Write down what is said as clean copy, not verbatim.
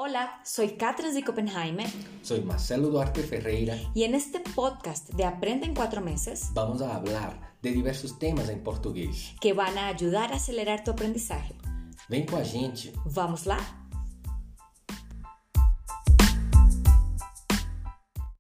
Hola, soy Katrin de Copenhague. Soy Marcelo Duarte Ferreira. Y en este podcast de Aprende en 4 meses vamos a hablar de diversos temas em português que van a ayudar a acelerar tu aprendizaje. Vem com a gente. Vamos lá?